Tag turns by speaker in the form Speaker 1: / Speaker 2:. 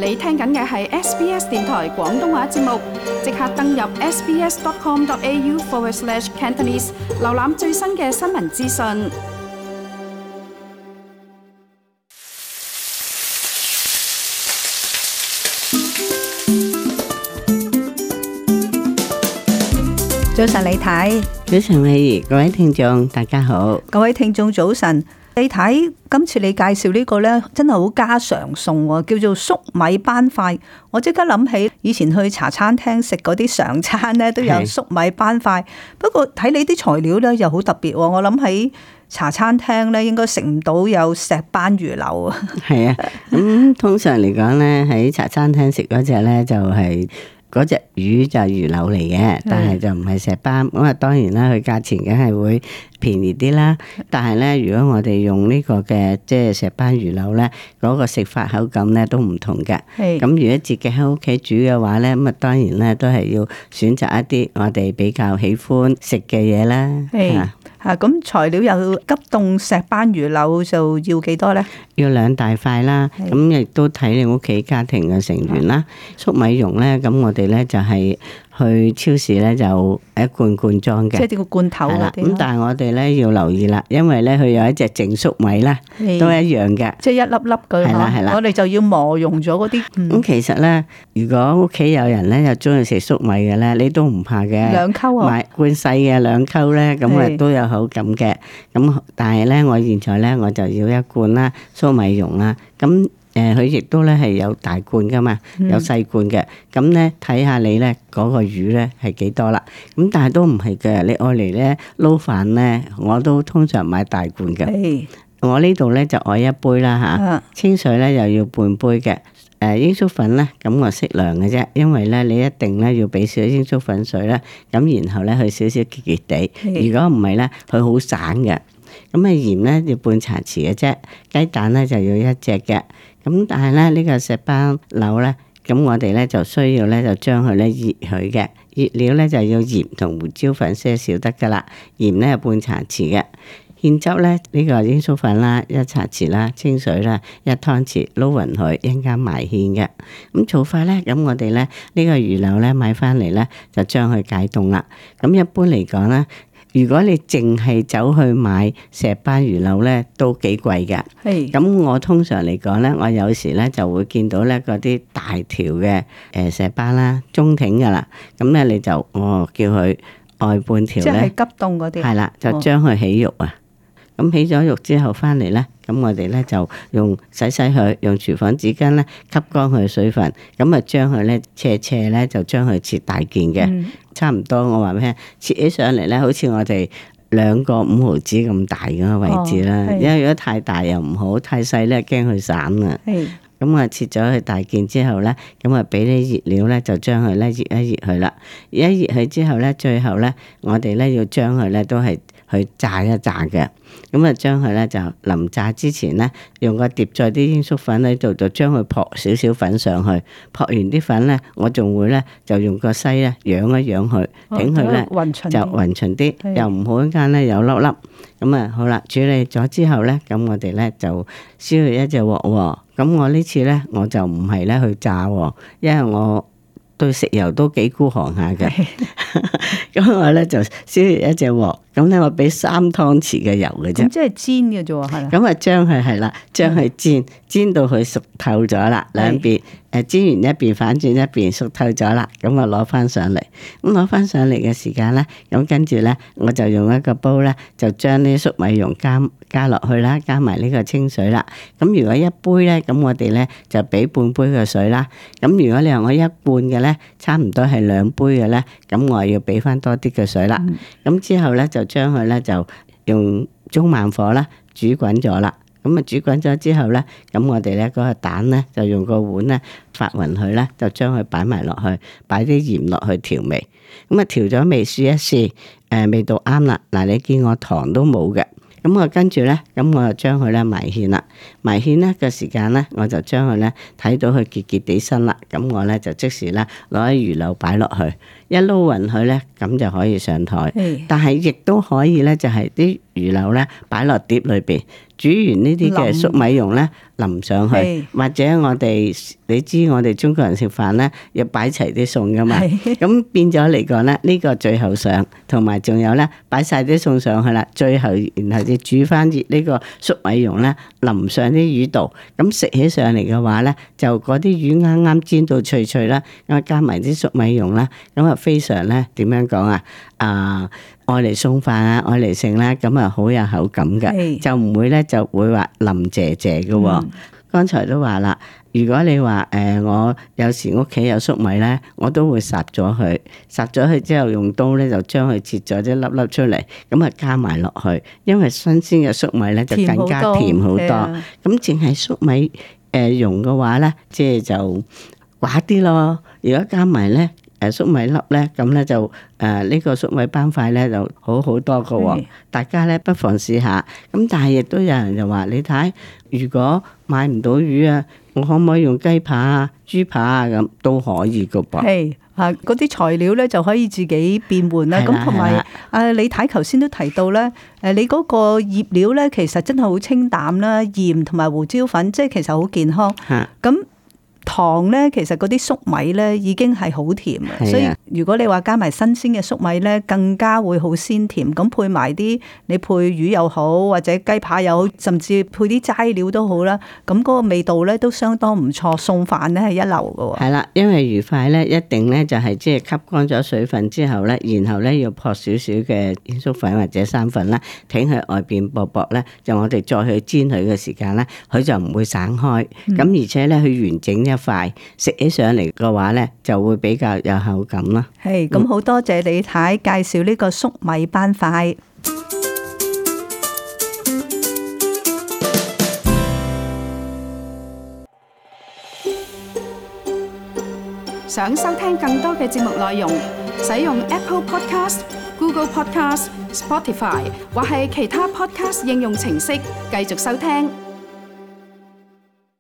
Speaker 1: 你聽緊嘅係 SBS 電台廣東話節目，即刻登入 sbs.com.au/Cantonese， 瀏覽最新嘅新聞資訊。
Speaker 2: 早晨李太，
Speaker 3: 早晨美儀，各位聽眾大家好。
Speaker 2: 各位聽眾早晨。李太，今次你介紹呢個呢，真係好家常餸喎，叫做粟米斑塊。我即刻諗起以前去茶餐廳食嗰啲常餐呢，都有粟米斑塊。不過睇你啲材料呢，又好特別喎。我諗喺茶餐廳呢，應該食唔到有石斑魚柳啊。
Speaker 3: 係啊，咁通常嚟講呢，喺茶餐廳食嗰隻呢，就係嗰隻魚就係魚柳嚟嘅，但係就唔係石斑。咁啊，當然啦，佢價錢梗係會便宜啲啦。但係咧，如果我哋用呢個嘅即係石斑魚柳咧，嗰個食法口感咧都唔同嘅。咁如果自己喺屋企煮嘅話咧，咁啊當然咧都係要選擇一啲我哋比較喜歡食嘅嘢啦。
Speaker 2: 咁材料有急凍石斑魚柳就要幾多咧？要
Speaker 3: 2大塊啦。咁亦都睇你屋企家庭嘅成員啦。粟米蓉咧，咁我哋咧就係去超市咧就一罐罐裝嘅，
Speaker 2: 即係啲個罐頭嗰啲。
Speaker 3: 咁但係我哋咧要留意啦，因為咧佢有一隻淨粟米啦，都一樣嘅，
Speaker 2: 即係一粒粒嘅。係啦，我哋就要磨溶咗嗰啲。
Speaker 3: 咁其實咧，如果屋企有人咧又中意食粟米嘅咧，你都唔怕嘅。
Speaker 2: 兩溝啊，
Speaker 3: 買罐細嘅2溝咧，咁啊都有口感嘅。咁但係咧，我現在咧我就要一罐啦粟米蓉啦。咁佢亦都咧係有大罐噶嘛，有細罐嘅。咁咧睇下你咧嗰個魚咧係幾多啦。咁但係都唔係嘅，你愛嚟咧撈飯咧，我都通常買大罐嘅。我呢度咧就愛一杯啦嚇，清水咧又要半杯嘅。鷹粟粉咧，咁我適量嘅啫，因為咧你一定咧要俾少鷹粟粉水啦。咁然後咧佢少少結結地，如果唔係咧佢好散嘅。咁啊鹽咧要半茶匙嘅啫，雞蛋咧就要1隻嘅。咁但係咧呢個石斑柳咧，咁我哋咧就需要咧就將佢咧醃佢嘅，醃料咧就要鹽同胡椒粉些少得噶啦，鹽咧半茶匙嘅。芡汁咧呢個鷹粟粉啦1茶匙啦，清水啦1湯匙，撈勻佢一陣間埋芡嘅。咁做法咧，咁我哋咧呢個魚柳咧買翻嚟咧就將佢解凍啦。咁一般嚟講咧，如果你淨係走去買石斑魚柳咧，都幾貴㗎。咁我通常嚟講咧，我有時咧就會見到咧嗰啲大條嘅石斑啦，中挺㗎啦。咁咧你就叫佢外半條咧，即係急凍嗰啲。係啦，就將佢起肉啊。咁起咗肉之後翻嚟咧，咁我哋咧就用洗佢，用廚房紙巾咧吸乾佢水分，咁啊將佢咧斜咧就將佢切大件嘅，差唔多我話咩？切起上嚟咧，好似我哋2個5毫子咁大嗰個位置啦。因為如果太大又唔好，太細咧驚佢散啊。咁啊切咗佢大件之後咧，咁啊俾啲熱料咧就將佢咧熱一熱佢啦。熱一熱佢之後咧，最後咧我哋咧要將佢咧都係去炸一炸嘅。咁啊將佢咧就臨炸之前咧，用個碟再啲鷹粟粉喺度，就將佢撲少少粉上去。撲完啲粉咧，我仲會咧就用個篩咧揚一揚佢，整佢咧就勻勻啲，又唔好一間咧有粒粒。咁啊好啦，處理咗之後咧，咁我哋咧就燒去一隻鑊喎。咁我呢次咧我就唔係咧去炸喎，因為我對食油都幾孤寒下嘅。咁我咧就燒熱一隻鑊，咁咧我俾3湯匙嘅油嘅啫。
Speaker 2: 咁即係煎嘅啫喎，係啦。
Speaker 3: 咁啊將佢係啦，將佢煎到佢熟透咗啦，兩邊煎完一邊反轉一邊熟透咗啦，咁啊攞翻上嚟。咁攞翻上嚟嘅時間咧，咁跟住咧我就用一個煲咧，就將啲粟米蓉加落去啦，加埋呢個清水啦。咁如果一杯咧，咁我哋咧就俾半杯嘅水啦。咁如果你話我一罐嘅咧，差唔多係2杯嘅咧，咁我要俾翻多啲嘅水啦。咁之後咧就將佢咧就用中慢火啦煮滾咗啦。咁啊煮滾咗之後咧，咁我哋咧嗰個蛋咧就用個碗咧發勻佢咧，就將佢擺埋落去，擺啲鹽落去調味。咁啊調咗味試一試，味道啱啦。嗱，你見我糖都冇嘅。 咁我跟住咧，咁我就將佢咧埋芡啦。埋芡咧嘅時間咧，我就將佢咧睇到佢結結地身啦。咁我咧就即時咧攞啲魚柳擺落去，一撈勻佢咧，咁就可以上台。但係亦都可以咧，就係啲魚柳咧擺落碟裏邊，煮完呢啲嘅粟米蓉咧淋上去，或者你知我哋中國人食飯咧要擺齊啲餸噶嘛，咁變咗嚟講咧，呢個最後上，同埋仲有咧擺晒啲餸上去啦，最後然後就煮翻熱呢個粟米蓉咧淋上啲魚度，咁食起上嚟嘅話咧，就嗰啲魚啱啱煎到脆脆啦，咁加埋啲粟米蓉啦，咁啊非常咧點樣講啊？愛嚟餸飯啊，愛嚟食啦，咁啊好有口感嘅，就唔會咧就會話腍謝謝嘅。剛才都話啦，如果你話我有時屋企有粟米咧，我都會烚咗佢，烚咗佢之後用刀咧就將佢切咗啲粒粒出嚟，咁啊加埋落去，因為新鮮嘅粟米咧就更加甜好多。咁淨係粟米蓉嘅話咧，即係就寡啲咯。如果加埋咧粟米粒咧，咁咧就呢個粟米斑塊咧就好好多㗎喎。大家咧不妨試下。咁但係亦都有人就話：你睇，如果買唔到魚啊，我可唔可以用雞扒啊、豬扒啊咁都可以㗎噃。
Speaker 2: 係嗰啲材料咧就可以自己變換啦。咁同埋李太頭先都提到咧，你嗰個醃料咧其實真係好清淡啦，鹽同埋胡椒粉，即係其實好健康。咁糖咧，其實嗰啲粟米咧已經係好甜嘅，所以如果你話加埋新鮮嘅粟米咧，更加會好鮮甜。咁配埋啲你配魚又好，或者雞扒又好，甚至配啲齋料都好啦。咁嗰個味道咧都相當唔錯，餸飯咧係一流嘅。係
Speaker 3: 啦，因為魚塊咧一定咧就係即係吸乾咗水分之後咧，然後咧要撲少少嘅芫荽粉或者生粉啦，挺喺外邊薄薄咧，就我哋再去煎佢嘅時間咧，佢就唔會散開。咁而且咧佢完整一塊食起上嚟嘅話咧，就會比較有口感啦。
Speaker 2: 係咁，好多謝李太介紹呢個粟米斑塊。
Speaker 1: 想收聽更多嘅節目內容，使用 Apple Podcast、Google Podcast、Spotify 或係其他 Podcast 應用程式繼續收聽。